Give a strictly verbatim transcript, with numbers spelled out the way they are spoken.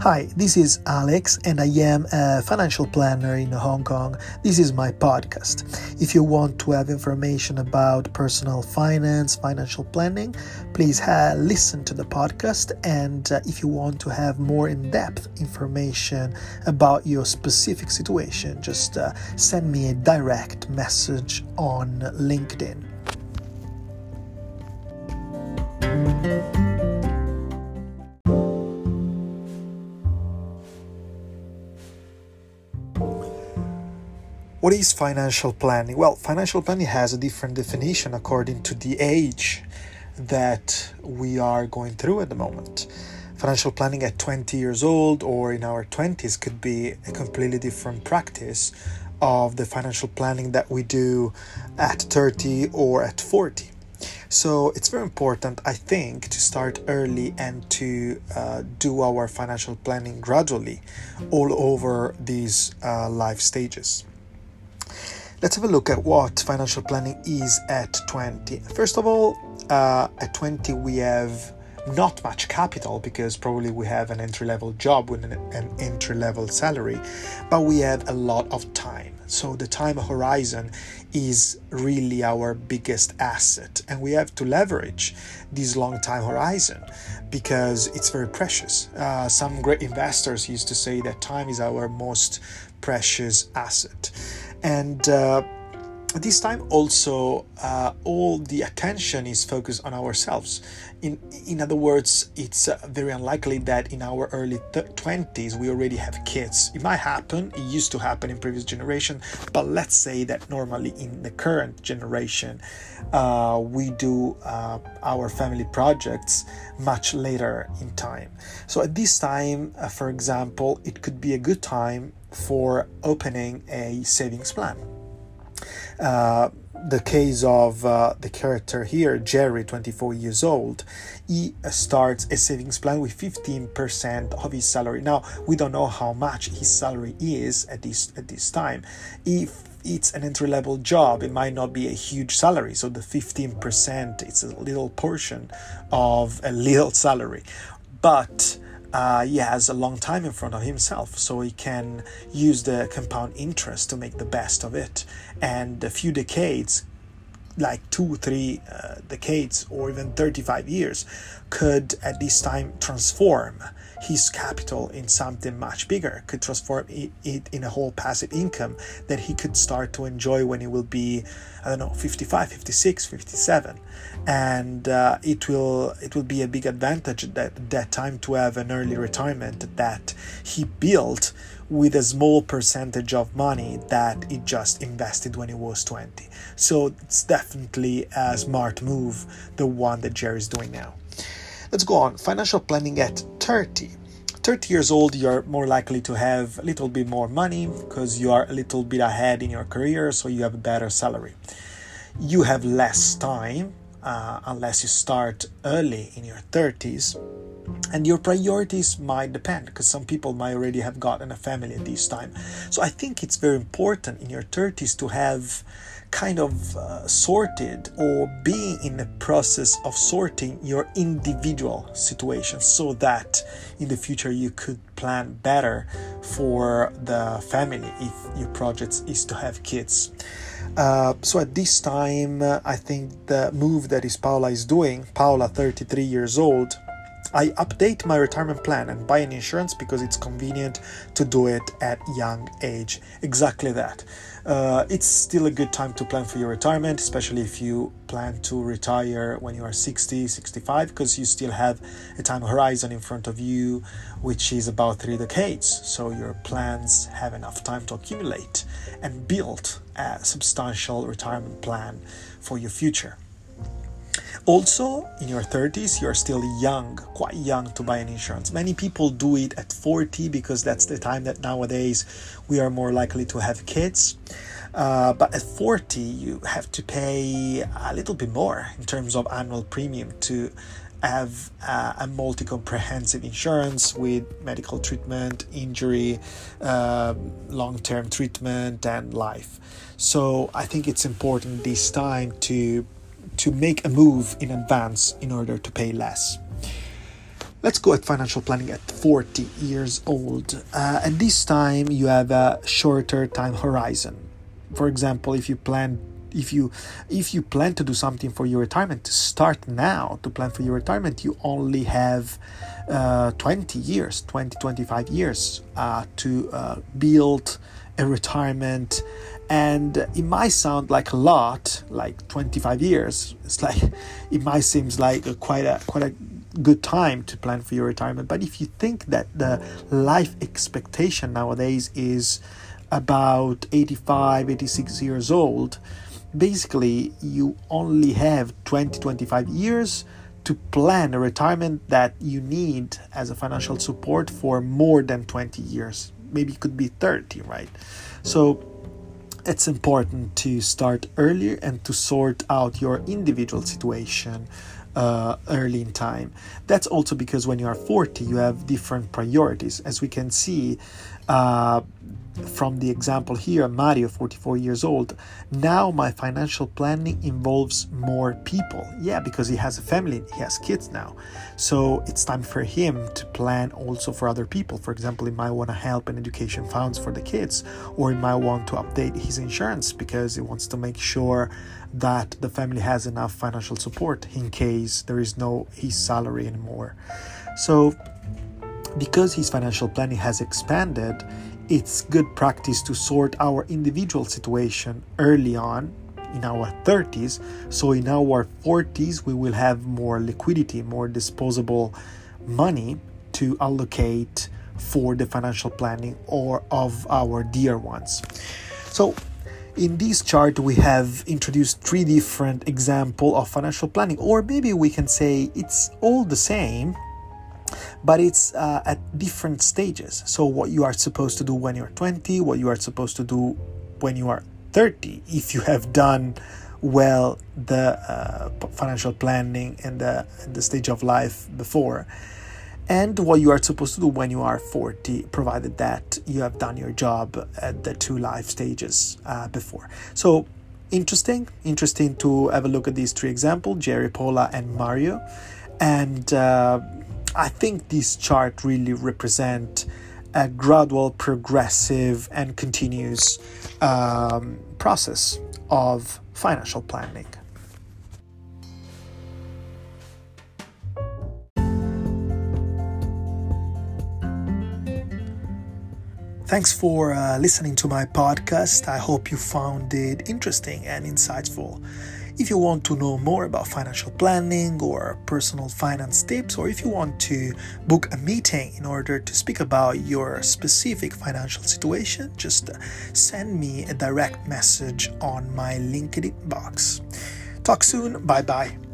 Hi, this is Alex and I am a financial planner in Hong Kong. This is my podcast. If you want to have information about personal finance, financial planning, please uh, listen to the podcast. And uh, if you want to have more in-depth information about your specific situation, just uh, send me a direct message on LinkedIn. What is financial planning? Well, financial planning has a different definition according to the age that we are going through at the moment. Financial planning at twenty years old or in our twenties could be a completely different practice of the financial planning that we do at thirty or at forty. So it's very important, I think, to start early and to uh, do our financial planning gradually all over these uh, life stages. Let's have a look at what financial planning is at twenty. First of all, uh, at twenty we have not much capital because probably we have an entry-level job with an, an entry-level salary, but we have a lot of time. So the time horizon is really our biggest asset, and we have to leverage this long time horizon because it's very precious. Uh, some great investors used to say that time is our most precious asset. And uh, at this time also uh, all the attention is focused on ourselves. In in other words, it's uh, very unlikely that in our early th- twenties we already have kids. It might happen, it used to happen in previous generation, but let's say that normally in the current generation uh, we do uh, our family projects much later in time. So at this time, uh, for example, it could be a good time for opening a savings plan. Uh, the case of uh, the character here, Jerry, twenty-four years old, he uh, starts a savings plan with fifteen percent of his salary. Now, we don't know how much his salary is at this at this time. If it's an entry-level job, it might not be a huge salary, so the fifteen percent it's a little portion of a little salary. But Uh, he has a long time in front of himself, so he can use the compound interest to make the best of it. And a few decades, like two, three uh, decades, or even thirty-five years, could at this time transform his capital in something much bigger, could transform it, it in a whole passive income that he could start to enjoy when he will be, I don't know, fifty-five, fifty-six, fifty-seven. And uh, it will it will be a big advantage at that, that time to have an early retirement that he built with a small percentage of money that he just invested when he was twenty. So it's definitely a smart move, the one that Jerry's doing now. Let's go on. Financial planning at thirty. thirty years old, you're more likely to have a little bit more money because you are a little bit ahead in your career, so you have a better salary. You have less time uh, unless you start early in your thirties. And your priorities might depend because some people might already have gotten a family at this time. So I think it's very important in your thirties to have kind of uh, sorted or be in the process of sorting your individual situation so that in the future you could plan better for the family if your project is to have kids. Uh, so at this time, uh, I think the move that is Paula is doing, Paula, thirty-three years old, I update my retirement plan and buy an insurance because it's convenient to do it at young age. Exactly that. Uh, it's still a good time to plan for your retirement, especially if you plan to retire when you are sixty, sixty-five, because you still have a time horizon in front of you, which is about three decades. So your plans have enough time to accumulate and build a substantial retirement plan for your future. Also, in your thirties, you're still young, quite young to buy an insurance. Many people do it at forty because that's the time that nowadays we are more likely to have kids. Uh, but at forty, you have to pay a little bit more in terms of annual premium to have uh, a multi-comprehensive insurance with medical treatment, injury, uh, long-term treatment, and life. So I think it's important this time to to make a move in advance in order to pay less. Let's go at financial planning at forty years old. Uh, at this time, you have a shorter time horizon. For example, if you plan if you if you plan to do something for your retirement, to start now to plan for your retirement, you only have uh, twenty years, twenty, twenty-five years uh, to uh, build a retirement. And it might sound like a lot, like twenty-five years. It's like, it might seem like a, quite a quite a good time to plan for your retirement. But if you think that the life expectation nowadays is about eighty-five, eighty-six years old, basically you only have twenty, twenty-five years to plan a retirement that you need as a financial support for more than twenty years. Maybe it could be thirty, right? So it's important to start earlier and to sort out your individual situation uh, early in time. That's also because when you are forty, you have different priorities. As we can see uh, from the example here, Mario, forty-four years old. Now my financial planning involves more people. Yeah, because he has a family, he has kids now. So it's time for him to plan also for other people. For example, he might want to help in education funds for the kids, or he might want to update his insurance because he wants to make sure that the family has enough financial support in case there is no his salary anymore. So because his financial planning has expanded, it's good practice to sort our individual situation early on in our thirties. So in our forties, we will have more liquidity, more disposable money to allocate for the financial planning or of our dear ones. So in this chart, we have introduced three different examples of financial planning, or maybe we can say it's all the same, but it's uh, at different stages. So what you are supposed to do when you're twenty, what you are supposed to do when you are thirty, if you have done well the uh, financial planning and the, the stage of life before, and what you are supposed to do when you are forty, provided that you have done your job at the two life stages uh, before. So interesting, interesting to have a look at these three examples, Jerry, Paula, and Mario. And uh, I think this chart really represents a gradual, progressive, and continuous um, process of financial planning. Thanks for uh, listening to my podcast. I hope you found it interesting and insightful. If you want to know more about financial planning or personal finance tips, or if you want to book a meeting in order to speak about your specific financial situation, just send me a direct message on my LinkedIn box. Talk soon. Bye bye.